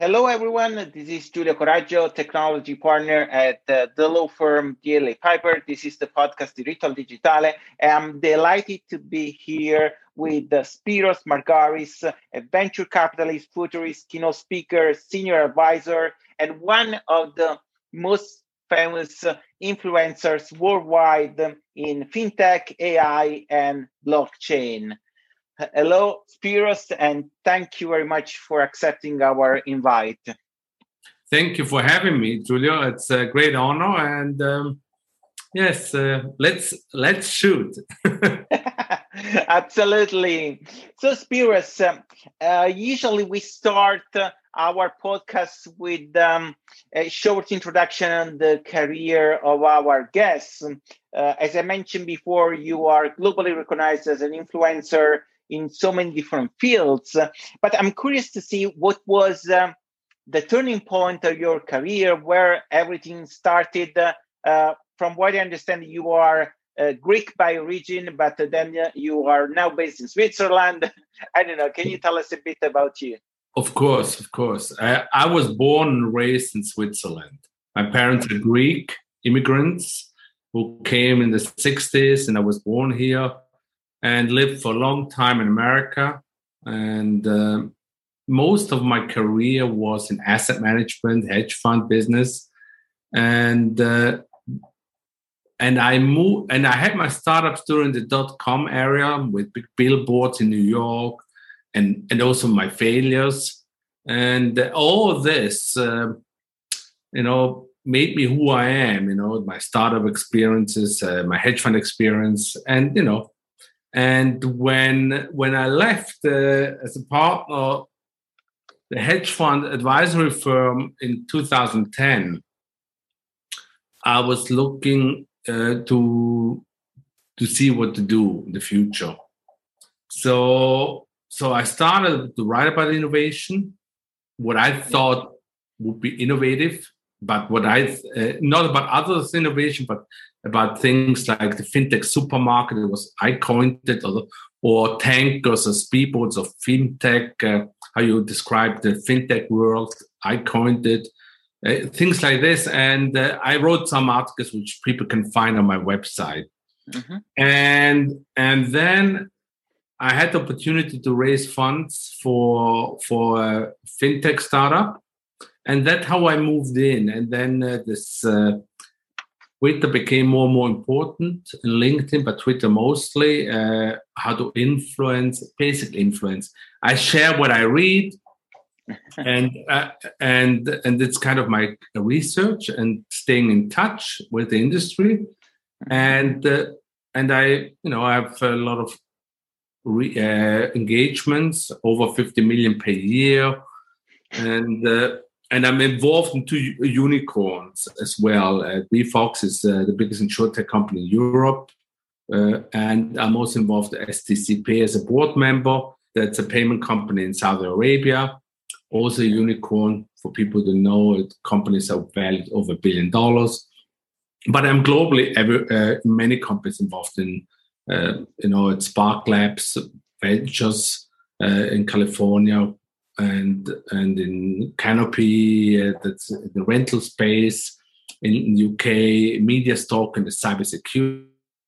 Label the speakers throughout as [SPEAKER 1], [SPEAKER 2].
[SPEAKER 1] Hello, everyone. This is Giulio Coraggio, technology partner at the law firm DLA Piper. This is the podcast Diritto Digitale. I'm delighted to be here with Spiros Margaris, a venture capitalist, futurist, keynote speaker, senior advisor, and one of the most famous influencers worldwide in fintech, AI, and blockchain. Hello, Spiros, and thank you very much for accepting our invite.
[SPEAKER 2] Thank you for having me, Giulio. It's a great honor, and yes, let's shoot.
[SPEAKER 1] Absolutely. So, Spiros, usually we start our podcast with a short introduction on the career of our guests. As I mentioned before, you are globally recognized as an influencer in so many different fields. But I'm curious to see what was the turning point of your career, where everything started. From what I understand, you are Greek by origin, but then you are now based in Switzerland. I don't know. Can you tell us a bit about you?
[SPEAKER 2] Of course. I was born and raised in Switzerland. My parents are Greek immigrants who came in the 60s, and I was born here and lived for a long time in America. And most of my career was in asset management, hedge fund business. And I moved, and I had my startups during the .com era with big billboards in New York, and also my failures. And all of this, made me who I am. My startup experiences, my hedge fund experience, and when I left as a partner, the hedge fund advisory firm in 2010, I was looking to see what to do in the future. So I started to write about innovation, what I thought would be innovative, but not about others' innovation, but about things like the fintech supermarket. I coined it, or tankers or speedboats of fintech. How you describe the fintech world? I coined it. Things like this, and I wrote some articles which people can find on my website. Mm-hmm. And then I had the opportunity to raise funds for a fintech startup, and that's how I moved in. And then this Twitter became more and more important, and LinkedIn, but Twitter mostly. How to basic influence. I share what I read. And it's kind of my research and staying in touch with the industry, and I have a lot of engagements, over 50 million per year, and I'm involved in 2 unicorns as well. VFox is the biggest insurtech company in Europe, and I'm also involved at STCP as a board member. That's a payment company in Saudi Arabia. Also a unicorn, for people to know, companies are valued over $1 billion. But I'm globally many companies involved in, at Spark Labs, Ventures in California, and in Canopy, that's in the rental space, in UK, MediaStock in the cybersecurity.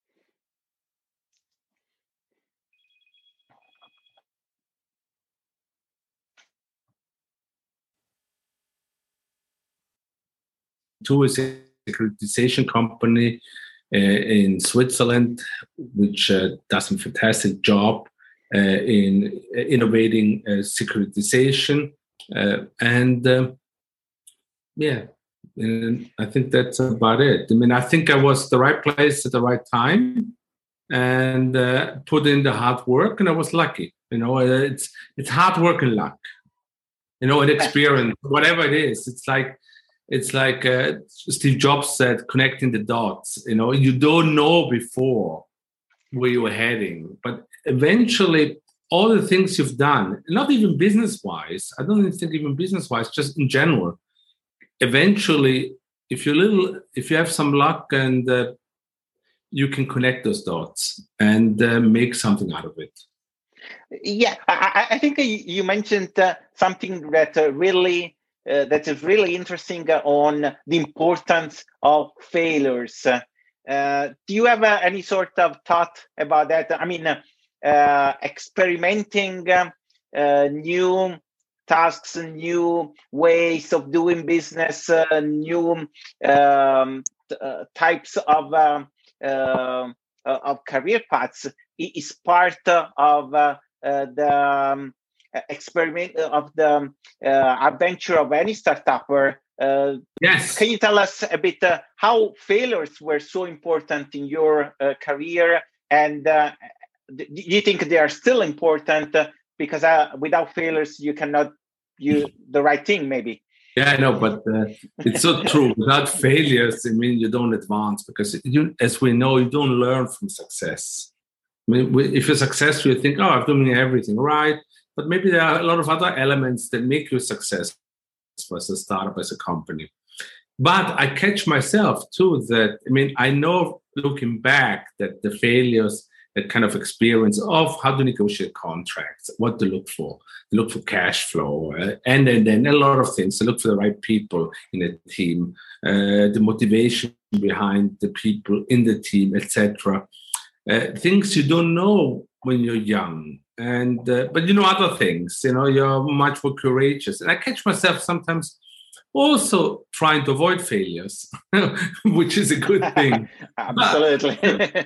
[SPEAKER 2] Two is a securitization company in Switzerland, which does a fantastic job in innovating securitization. And I think that's about it. I think I was the right place at the right time, and put in the hard work, and I was lucky. It's hard work and luck, and experience, whatever it is. It's like Steve Jobs said, connecting the dots. You don't know before where you're heading, but eventually all the things you've done, not even business-wise, I don't even think even business-wise, just in general, eventually, if you have some luck, and you can connect those dots and make something out of it.
[SPEAKER 1] Yeah, I think you mentioned something that really that is really interesting on the importance of failures. Do you have any sort of thought about that? I mean, experimenting new tasks, new ways of doing business, new types of career paths is part of the experiment of the adventure of any startupper.
[SPEAKER 2] Yes.
[SPEAKER 1] Can you tell us a bit how failures were so important in your career, and do you think they are still important? Because without failures, you cannot do the right thing, maybe.
[SPEAKER 2] Yeah, I know, but it's so true. Without failures, I mean, you don't advance because, as we know, you don't learn from success. I mean, if you're successful, you think, oh, I'm doing everything right. But maybe there are a lot of other elements that make you successful as a startup, as a company. But I catch myself too that, I mean, I know looking back that the failures, that kind of experience of how to negotiate contracts, what to look for cash flow, and then a lot of things, to look for the right people in a team, the motivation behind the people in the team, etc. Things you don't know when you're young. And but you know other things, you're much more courageous. And I catch myself sometimes also trying to avoid failures, which is a good thing.
[SPEAKER 1] Absolutely.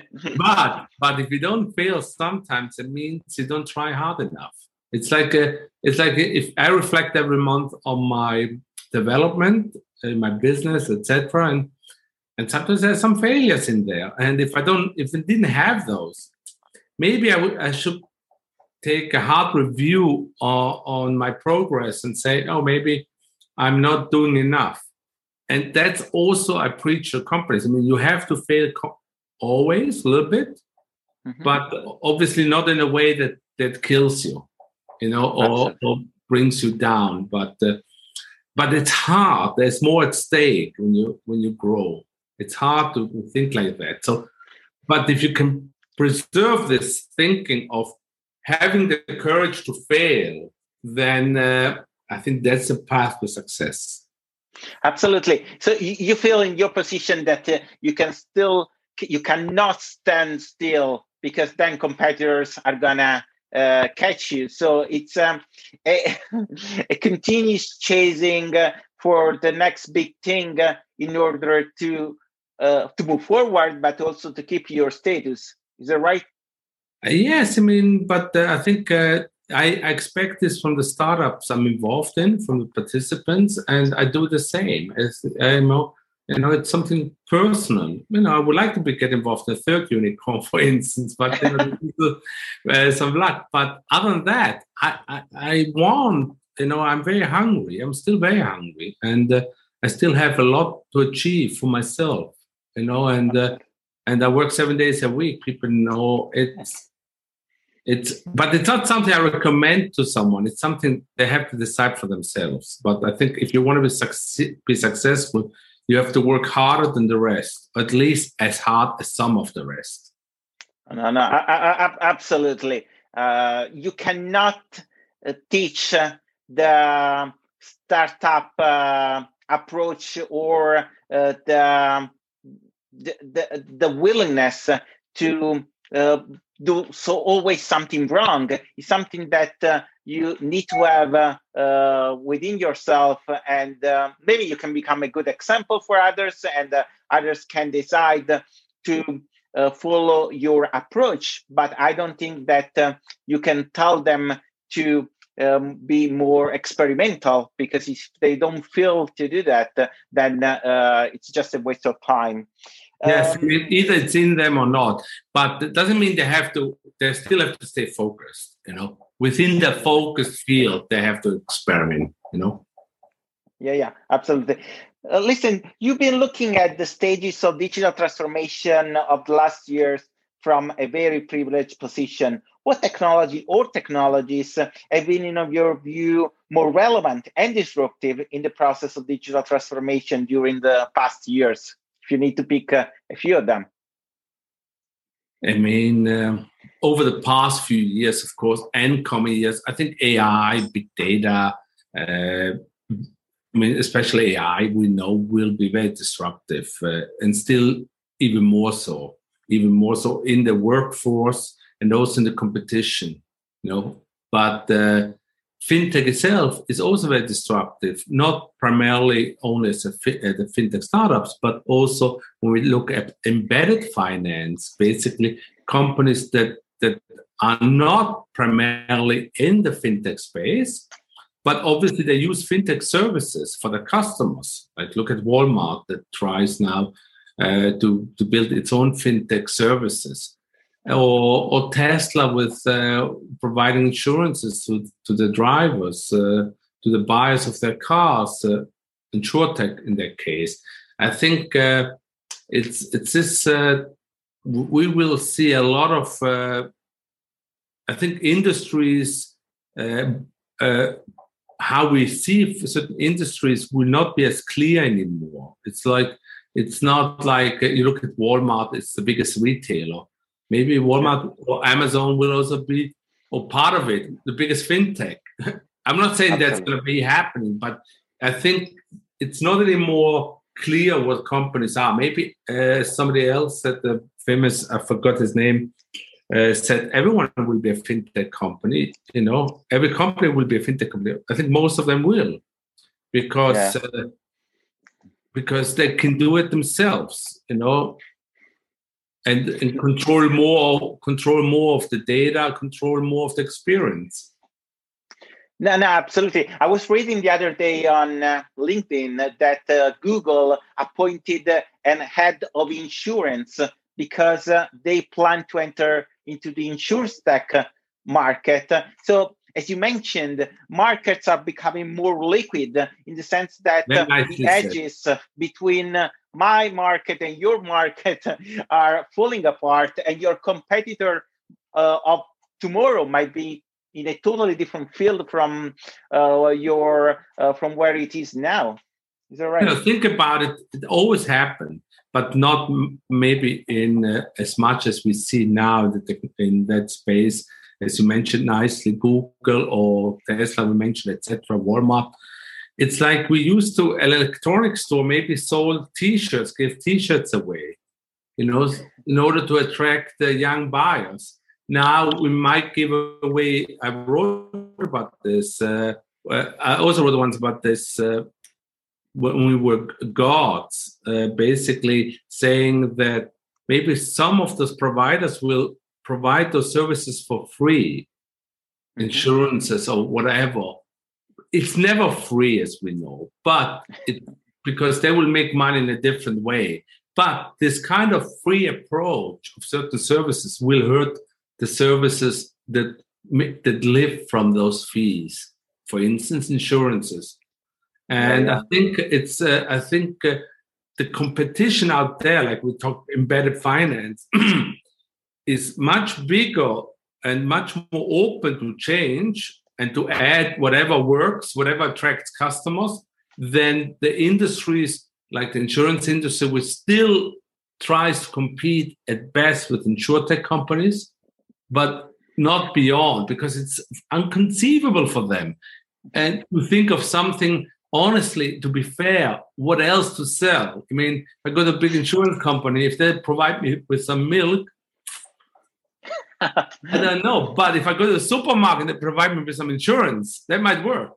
[SPEAKER 2] but if you don't fail, sometimes it means you don't try hard enough. It's like if I reflect every month on my development, my business, etc., and sometimes there's some failures in there. And if I didn't have those, maybe I should take a hard review on my progress and say, oh, maybe I'm not doing enough. And that's also, I preach to companies. I mean, you have to fail always a little bit, but obviously not in a way that kills you, or brings you down. But it's hard. There's more at stake when you grow. It's hard to think like that. So, but if you can preserve this thinking of having the courage to fail, then I think that's a path to success.
[SPEAKER 1] Absolutely. So you feel in your position that you cannot stand still, because then competitors are gonna catch you. So it's a continuous chasing for the next big thing in order to move forward, but also to keep your status. Is that right?
[SPEAKER 2] Yes, I mean, but I think I expect this from the startups I'm involved in, from the participants, and I do the same. As it's something personal. I would like to get involved in a third unicorn, for instance, but some luck. But other than that, I want. I'm very hungry. I'm still very hungry, and I still have a lot to achieve for myself. And I work 7 days a week. People know but it's not something I recommend to someone. It's something they have to decide for themselves. But I think if you want to be successful, you have to work harder than the rest, at least as hard as some of the rest.
[SPEAKER 1] No, absolutely. You cannot teach the startup approach or the willingness to do so always something wrong. Is something that you need to have within yourself, and maybe you can become a good example for others, and others can decide to follow your approach. But I don't think that you can tell them to be more experimental, because if they don't feel to do that, then it's just a waste of time.
[SPEAKER 2] Yes, either it's in them or not, but it doesn't mean they still have to stay focused, within the focused field, they have to experiment,
[SPEAKER 1] Yeah, absolutely. Listen, you've been looking at the stages of digital transformation of the last years from a very privileged position. What technology or technologies have been, in your view, more relevant and disruptive in the process of digital transformation during the past years? If you need to pick a few of them.
[SPEAKER 2] I mean, over the past few years, of course, and coming years, I think AI, big data, I mean, especially AI, we know will be very disruptive, and still even more so in the workforce and also in the competition, you know. But fintech itself is also very disruptive, not primarily only as the fintech startups, but also when we look at embedded finance, basically companies that are not primarily in the fintech space, but obviously they use fintech services for their customers. Like look at Walmart that tries now to build its own fintech services, or Tesla with providing insurances to the drivers, to the buyers of their cars, InsurTech in that case. I think it's this. We will see a lot of. I think industries. How we see certain industries will not be as clear anymore. It's not like you look at Walmart, it's the biggest retailer. Maybe Walmart or Amazon will also be, or part of it, the biggest fintech. I'm not saying that's going to be happening, but I think it's not anymore clear what companies are. Maybe somebody else said, the famous, I forgot his name, said everyone will be a fintech company. You know, every company will be a fintech company. I think most of them will, because they can do it themselves. You know, and control more of the data, control more of the experience.
[SPEAKER 1] No, absolutely. I was reading the other day on LinkedIn that Google appointed an head of insurance because they plan to enter into the insurtech market. So, as you mentioned, markets are becoming more liquid in the sense that the edges between my market and your market are falling apart, and your competitor of tomorrow might be in a totally different field from from where it is now. Is that right?
[SPEAKER 2] You know, think about it. It always happened, but not maybe in as much as we see now in that space. As you mentioned nicely, Google or Tesla, we mentioned, etc., Walmart. It's like we used to, an electronics store maybe sold T-shirts, gave T-shirts away, you know, in order to attract the young buyers. Now we might give away, I wrote about this, I also wrote once about this when we were gods, basically saying that maybe some of those providers will provide those services for free, insurances or whatever. It's never free, as we know, but because they will make money in a different way. But this kind of free approach of certain services will hurt the services that live from those fees. For instance, insurances. And I think the competition out there, like we talked, embedded finance, is much bigger and much more open to change and to add whatever works, whatever attracts customers, than the industries like the insurance industry, which still tries to compete at best with insurtech companies, but not beyond, because it's inconceivable for them. And to think of something, honestly, to be fair, what else to sell? I mean, I go to a big insurance company, if they provide me with some milk, I don't know. But if I go to the supermarket and they provide me with some insurance, that might work.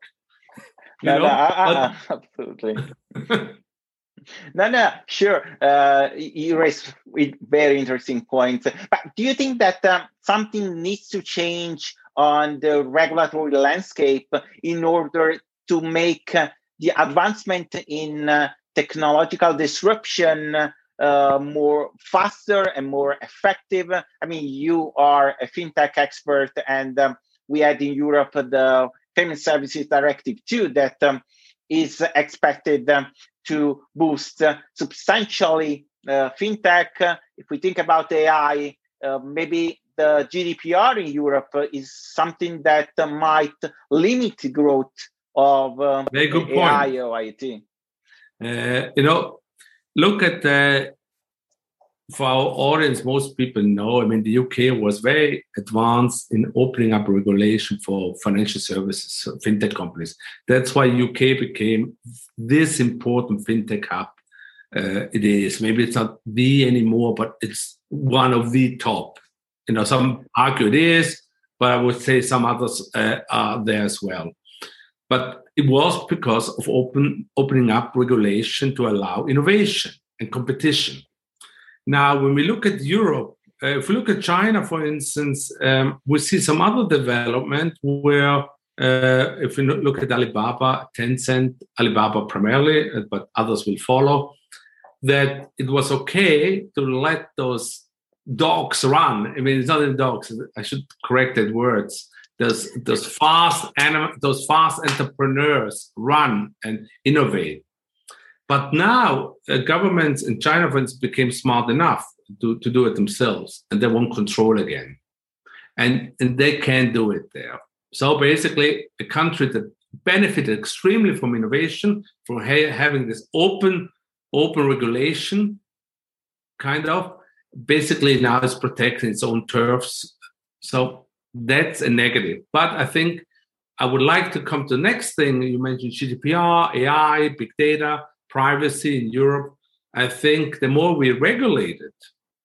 [SPEAKER 1] Absolutely. No, sure. You raise very interesting points. But do you think that something needs to change on the regulatory landscape in order to make the advancement in technological disruption more faster and more effective? I mean, you are a fintech expert, and we had in Europe the Payment Services Directive 2 that is expected to boost substantially fintech. If we think about AI, maybe the GDPR in Europe is something that might limit the growth of
[SPEAKER 2] very good
[SPEAKER 1] AI
[SPEAKER 2] point.
[SPEAKER 1] or IT.
[SPEAKER 2] Look at for our audience, most people know, I mean, the UK was very advanced in opening up regulation for financial services, fintech companies. That's why UK became this important fintech hub. It is. Maybe it's not the anymore, but it's one of the top. You know, some argue it is, but I would say some others are there as well. But it was because of opening up regulation to allow innovation and competition. Now, when we look at Europe, if we look at China, for instance, we see some other development where, if we look at Alibaba, Tencent, Alibaba primarily, but others will follow, that it was okay to let those dogs run. I mean, it's not the dogs. I should correct that words. Those fast entrepreneurs run and innovate. But now governments in China, for instance, became smart enough to do it themselves, and they want control again. And they can't do it there. So basically, a country that benefited extremely from innovation, from having this open regulation, kind of, basically now is protecting its own turfs. So that's a negative. But I think I would like to come to the next thing. You mentioned GDPR, AI, big data, privacy in Europe. I think the more we regulate it,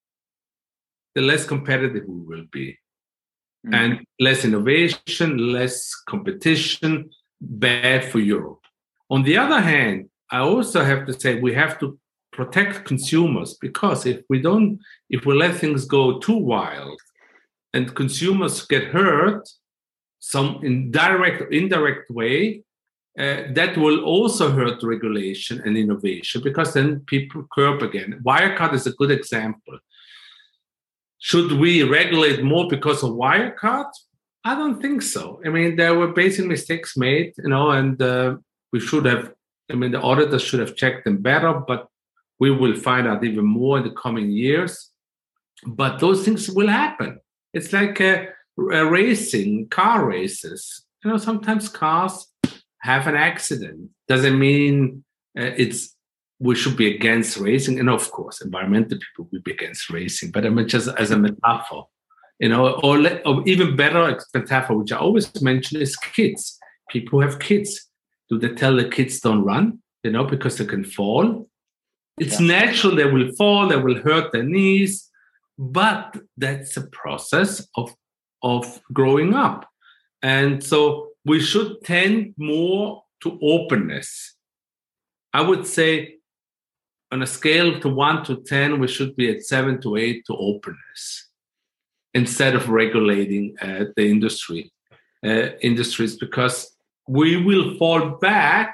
[SPEAKER 2] the less competitive we will be. Mm-hmm. And less innovation, less competition, bad for Europe. On the other hand, I also have to say we have to protect consumers, because if we let things go too wild and consumers get hurt, some indirect way, that will also hurt regulation and innovation, because then people curb again. Wirecard is a good example. Should we regulate more because of Wirecard? I don't think so. I mean, there were basic mistakes made, and we should have, the auditors should have checked them better, but we will find out even more in the coming years. But those things will happen. It's like car races. Sometimes cars have an accident. Doesn't mean we should be against racing. And of course, environmental people will be against racing. But I mean, just as a metaphor, or even better metaphor, which I always mention, is kids. People who have kids. Do they tell the kids don't run? Because they can fall. It's natural. They will fall. They will hurt their knees. But that's a process of growing up. And so we should tend more to openness. I would say on a scale to 1 to 10, we should be at 7 to 8 to openness instead of regulating the industries, because we will fall back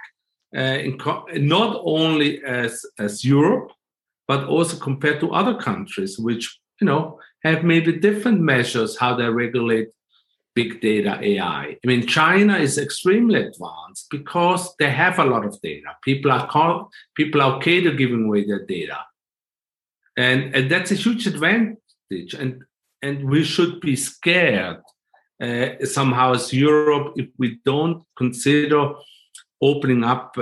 [SPEAKER 2] not only as Europe, but also compared to other countries, which have maybe different measures how they regulate big data, AI. I mean, China is extremely advanced because they have a lot of data. People are okay to giving away their data, and that's a huge advantage. And we should be scared somehow as Europe if we don't consider opening up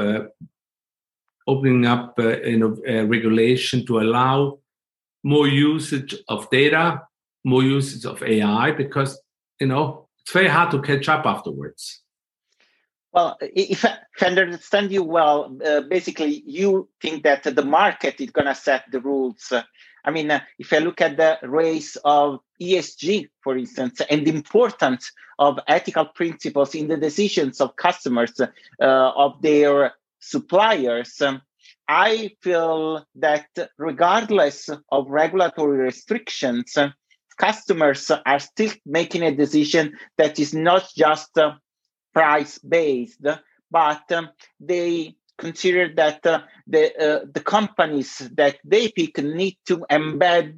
[SPEAKER 2] regulation to allow more usage of data, more usage of AI, because it's very hard to catch up afterwards.
[SPEAKER 1] Well, if I understand you well, basically you think that the market is going to set the rules. I mean, if I look at the race of ESG, for instance, and the importance of ethical principles in the decisions of customers, of their suppliers, I feel that regardless of regulatory restrictions, customers are still making a decision that is not just price-based, but they consider that the companies that they pick need to embed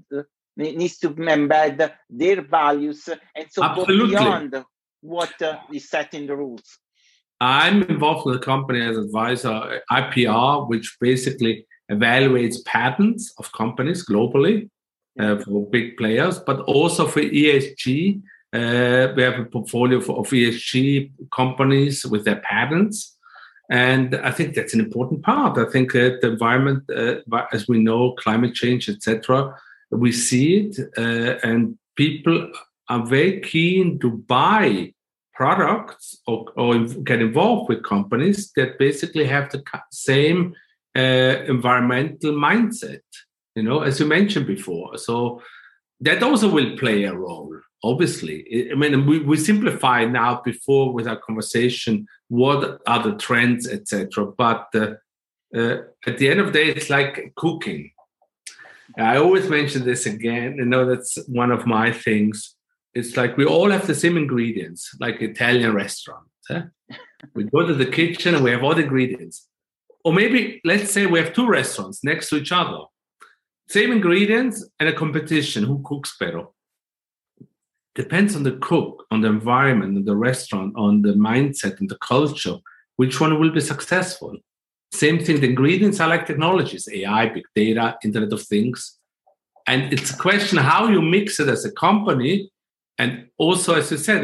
[SPEAKER 1] their values, and so
[SPEAKER 2] Absolutely.
[SPEAKER 1] go beyond what is set in the rules.
[SPEAKER 2] I'm involved with a company as advisor, IPR, which basically evaluates patents of companies globally for big players, but also for ESG. We have a portfolio of ESG companies with their patents. And I think that's an important part. I think the environment, as we know, climate change, etc., we see it, and people are very keen to buy products or get involved with companies that basically have the same environmental mindset, as you mentioned before. So that also will play a role, obviously. I mean, we simplify now before with our conversation what are the trends, etc. But at the end of the day, it's like cooking. I always mention this again. That's one of my things. It's like we all have the same ingredients, like Italian restaurant. We go to the kitchen and we have all the ingredients. Or maybe, let's say we have two restaurants next to each other. Same ingredients and a competition. Who cooks better? Depends on the cook, on the environment, on the restaurant, on the mindset and the culture. Which one will be successful? Same thing, the ingredients are like technologies, AI, big data, Internet of Things. And it's a question how you mix it as a company. And also, as you said,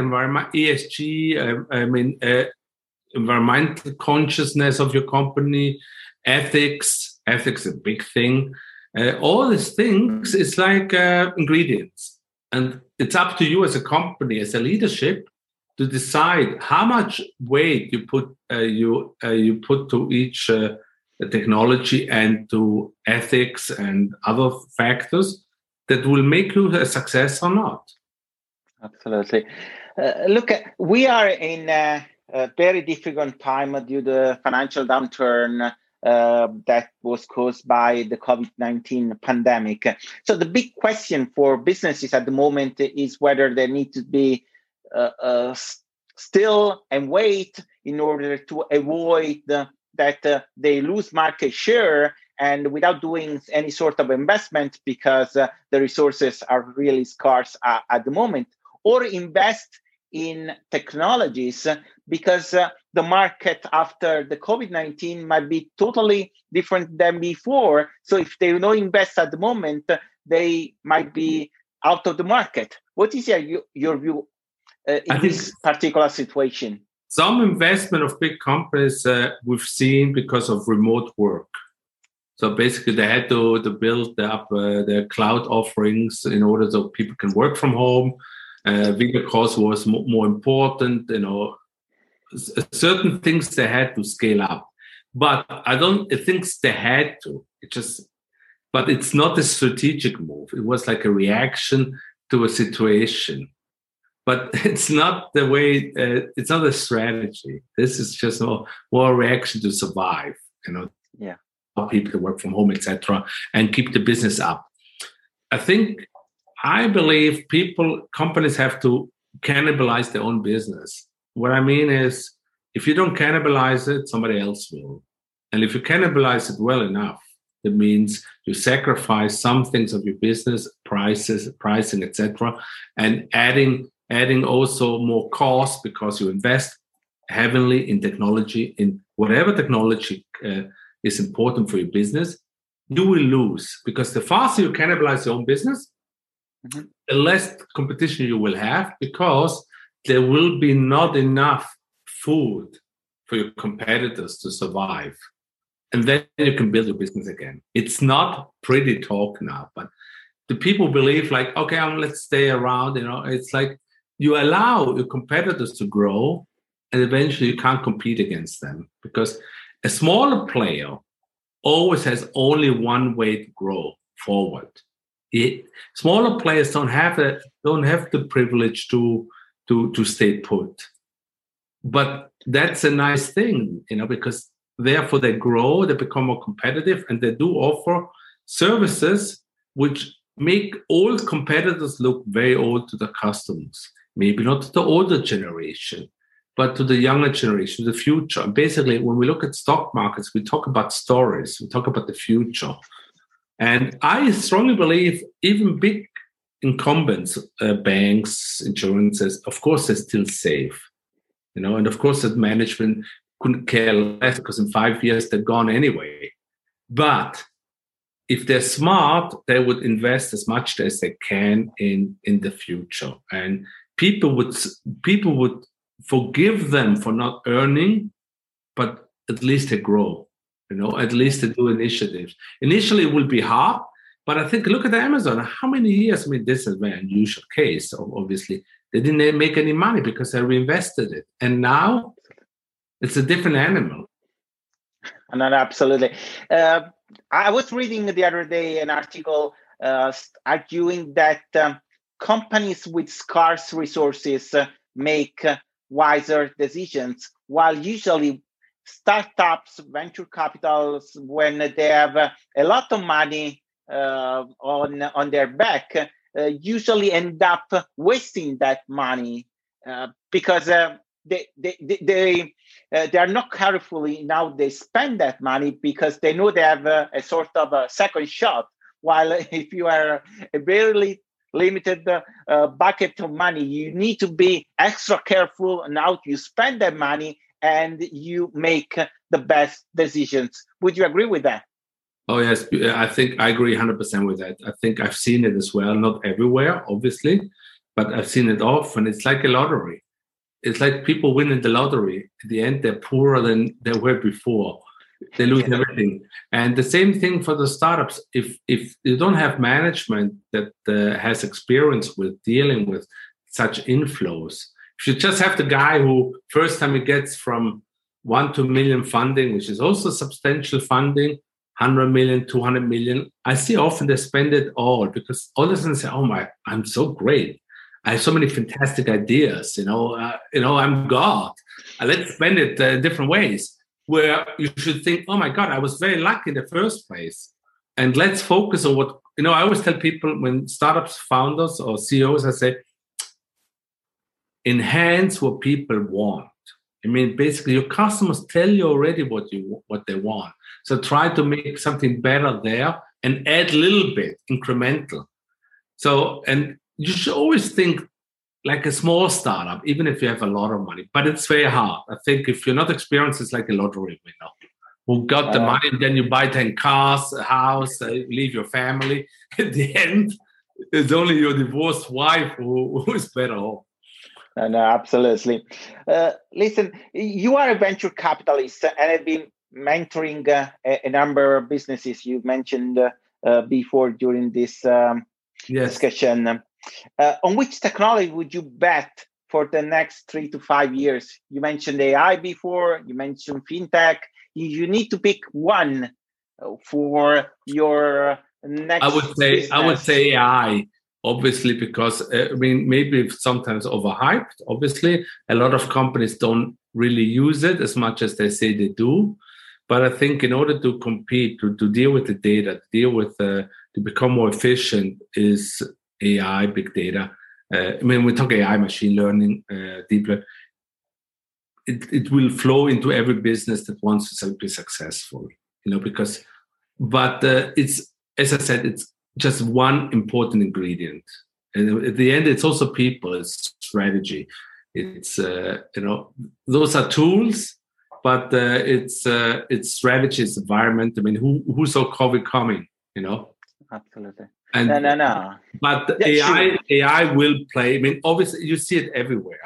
[SPEAKER 2] ESG, environmental consciousness of your company, ethics is a big thing. All these things is like ingredients. And it's up to you as a company, as a leadership, to decide how much weight you put to each technology and to ethics and other factors that will make you a success or not.
[SPEAKER 1] Absolutely. Look, we are in a very difficult time due to the financial downturn that was caused by the COVID-19 pandemic. So the big question for businesses at the moment is whether they need to be still and wait in order to avoid that they lose market share and without doing any sort of investment because the resources are really scarce at the moment, or invest in technologies because the market after the COVID-19 might be totally different than before. So if they don't invest at the moment, they might be out of the market. What is your view in this particular situation?
[SPEAKER 2] Some investment of big companies we've seen because of remote work. So basically they had to build up their cloud offerings in order so people can work from home. Video calls was more important, certain things they had to scale up. But I think they had to. But it's not a strategic move. It was like a reaction to a situation. But it's not the way, it's not a strategy. This is just more a reaction to survive,
[SPEAKER 1] Yeah.
[SPEAKER 2] People to work from home, etc., and keep the business up. I believe companies have to cannibalize their own business. What I mean is, if you don't cannibalize it, somebody else will. And if you cannibalize it well enough, that means you sacrifice some things of your business, pricing, etc., and adding also more cost because you invest heavily in technology, in whatever technology is important for your business, you will lose. Because the faster you cannibalize your own business, the less competition you will have because there will be not enough food for your competitors to survive. And then you can build your business again. It's not pretty talk now, but the people believe like, okay, let's stay around. It's like you allow your competitors to grow and eventually you can't compete against them because a smaller player always has only one way to grow forward. Smaller players don't have the privilege to stay put, but that's a nice thing, because therefore they grow, they become more competitive, and they do offer services which make old competitors look very old to the customers. Maybe not to the older generation, but to the younger generation, the future. And basically, when we look at stock markets, we talk about stories, we talk about the future. And I strongly believe even big incumbents, banks, insurances, of course, they're still safe. And of course, that management couldn't care less because in 5 years, they're gone anyway. But if they're smart, they would invest as much as they can in the future. And people would forgive them for not earning, but at least they grow. At least they do initiatives. Initially, it will be hard, But I think, look at Amazon. How many years? I mean, this is a very unusual case. Obviously, they didn't make any money because they reinvested it. And now it's a different animal.
[SPEAKER 1] And absolutely. I was reading the other day an article arguing that companies with scarce resources make wiser decisions, while usually startups, venture capitals, when they have a lot of money on their back, usually end up wasting that money because they are not carefully in how they spend that money, because they know they have a sort of a second shot. While if you are a very limited bucket of money, you need to be extra careful on how you spend that money, and you make the best decisions. Would you agree with that?
[SPEAKER 2] Oh, yes. I think I agree 100% with that. I think I've seen it as well, not everywhere, obviously, but I've seen it often. It's like a lottery. It's like people winning the lottery. At the end, they're poorer than they were before. They lose everything. And the same thing for the startups. If you don't have management that has experience with dealing with such inflows, if you just have the guy who first time he gets from 1 to 1 million funding, which is also substantial funding, 100 million, 200 million, I see often they spend it all, because all of a sudden say, oh my, I'm so great. I have so many fantastic ideas, I'm God. Let's spend it different ways, where you should think, oh my God, I was very lucky in the first place. And let's focus on what, I always tell people when startups founders or CEOs, I say, enhance what people want. I mean, basically your customers tell you already what they want. So try to make something better there and add a little bit incremental. So, and you should always think like a small startup, even if you have a lot of money, but it's very hard. I think if you're not experienced, it's like a lottery winner who got the money, and then you buy 10 cars, a house, leave your family. At the end, it's only your divorced wife who is better off.
[SPEAKER 1] No, absolutely. Listen, you are a venture capitalist and have been mentoring a number of businesses you mentioned before during this discussion. On which technology would you bet for the next 3 to 5 years? You mentioned AI before, you mentioned fintech. You need to pick one for your next business.
[SPEAKER 2] I would say AI. Obviously, because maybe it's sometimes overhyped. Obviously, a lot of companies don't really use it as much as they say they do. But I think in order to compete, to deal with the data, to become more efficient, is AI, big data. We talk AI, machine learning, deep learning. It will flow into every business that wants to be successful. But it's, as I said, it's just one important ingredient, and at the end it's also people, it's strategy, it's those are tools, but it's strategy, it's environment. I mean, who saw COVID coming?
[SPEAKER 1] Absolutely.
[SPEAKER 2] And
[SPEAKER 1] no.
[SPEAKER 2] But AI will play. I mean, obviously you see it everywhere.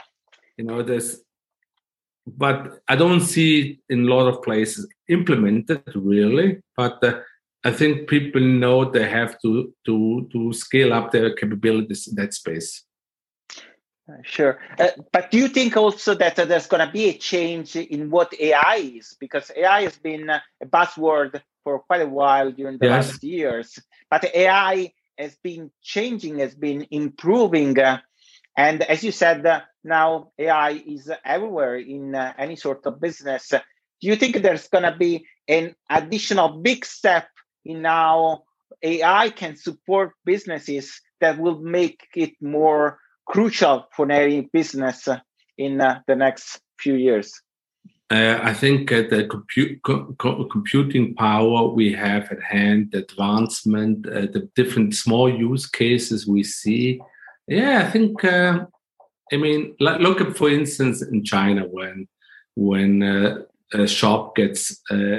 [SPEAKER 2] But I don't see it in a lot of places implemented really. But I think people know they have to scale up their capabilities in that space.
[SPEAKER 1] Sure. But do you think also that there's going to be a change in what AI is? Because AI has been a buzzword for quite a while during the last years. But AI has been changing, has been improving. And as you said, now AI is everywhere in any sort of business. Do you think there's going to be an additional big step in how AI can support businesses that will make it more crucial for any business in the next few years?
[SPEAKER 2] I think the computing power we have at hand, the advancement, the different small use cases we see. Yeah, I think, look at, for instance, in China, when a shop gets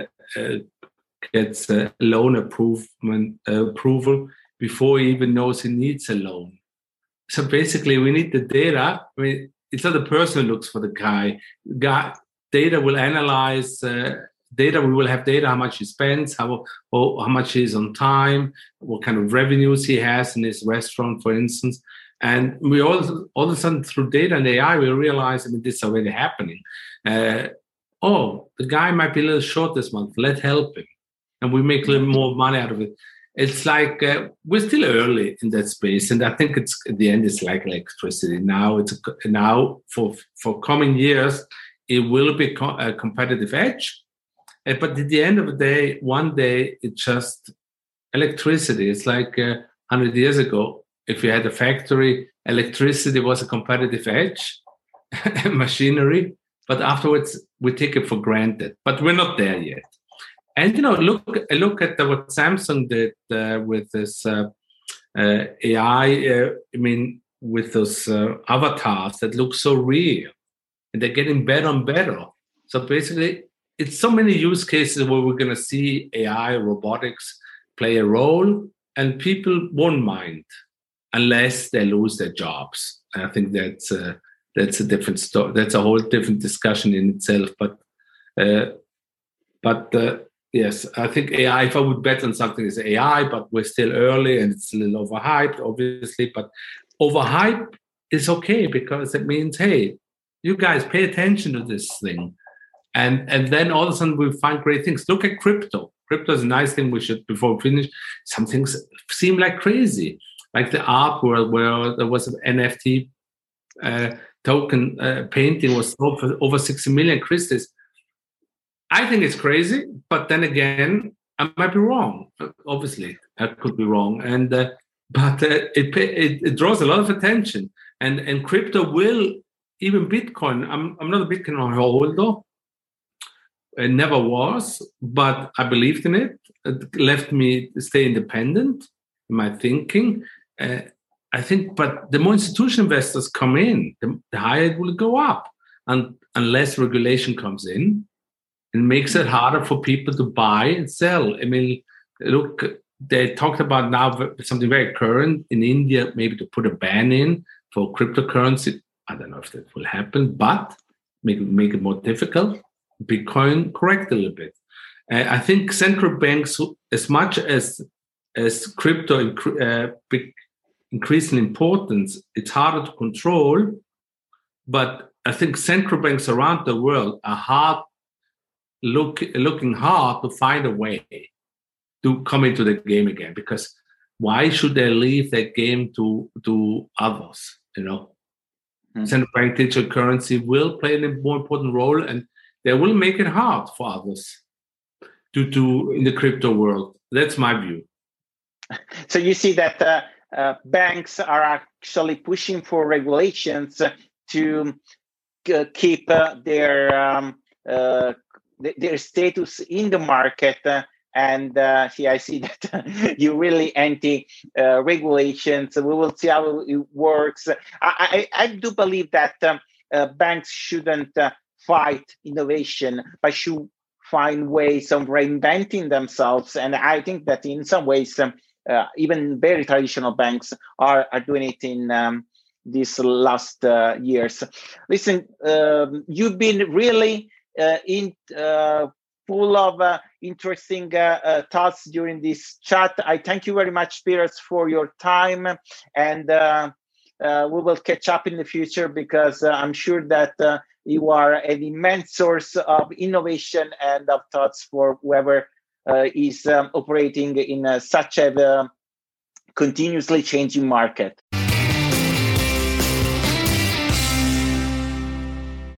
[SPEAKER 2] a loan approval before he even knows he needs a loan. So basically, we need the data. I mean, it's not the person who looks for the guy. Data will analyze the data. We will have data, how much he spends, how much he is on time, what kind of revenues he has in his restaurant, for instance. And we all of a sudden, through data and AI, we realize, this is already happening. The guy might be a little short this month. Let's help him. And we make a little more money out of it. It's like we're still early in that space. And I think it's at the end, it's like electricity. Now, now for coming years, it will be a competitive edge. But at the end of the day, one day, it's just electricity. It's like 100 years ago. If you had a factory, electricity was a competitive edge, machinery. But afterwards, we take it for granted. But we're not there yet. And look at what Samsung did with this AI. With those avatars that look so real, and they're getting better and better. So basically, it's so many use cases where we're going to see AI, robotics play a role, and people won't mind unless they lose their jobs. And I think that's a different story. That's a whole different discussion in itself. But yes, I think AI, if I would bet on something, is AI, but we're still early and it's a little overhyped, obviously. But overhype is okay because it means, hey, you guys pay attention to this thing. And then all of a sudden we find great things. Look at crypto. Crypto is a nice thing. We should, before we finish, some things seem like crazy. Like the art world where there was an NFT token painting was sold for over 60 million Christies. I think it's crazy, but then again, I might be wrong. Obviously, I could be wrong, but it draws a lot of attention. And crypto will, even Bitcoin. I'm not a Bitcoin holder. It never was, but I believed in it. It left me stay independent in my thinking. I think, but the more institutional investors come in, the higher it will go up, and unless regulation comes in. It makes it harder for people to buy and sell. Look, they talked about now something very current in India, maybe to put a ban in for cryptocurrency. I don't know if that will happen, but make it more difficult. Bitcoin correct a little bit. I think central banks, as much as crypto increase in importance, it's harder to control. But I think central banks around the world are looking hard to find a way to come into the game again, because why should they leave that game to others? Central bank digital currency will play a more important role, and they will make it hard for others to do in the crypto world. That's my view.
[SPEAKER 1] So you see that banks are actually pushing for regulations to keep their status in the market, and I see that you really anti regulations. We will see how it works. I do believe that banks shouldn't fight innovation, but should find ways of reinventing themselves. And I think that in some ways, even very traditional banks are doing it in these last years. Listen, you've been really full of interesting thoughts during this chat. I thank you very much, Spiros, for your time, and we will catch up in the future, because I'm sure that you are an immense source of innovation and of thoughts for whoever is operating in such a continuously changing market.